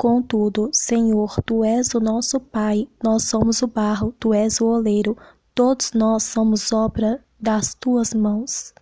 Contudo, Senhor, tu és o nosso Pai, nós somos o barro, tu és o oleiro, todos nós somos obra das tuas mãos.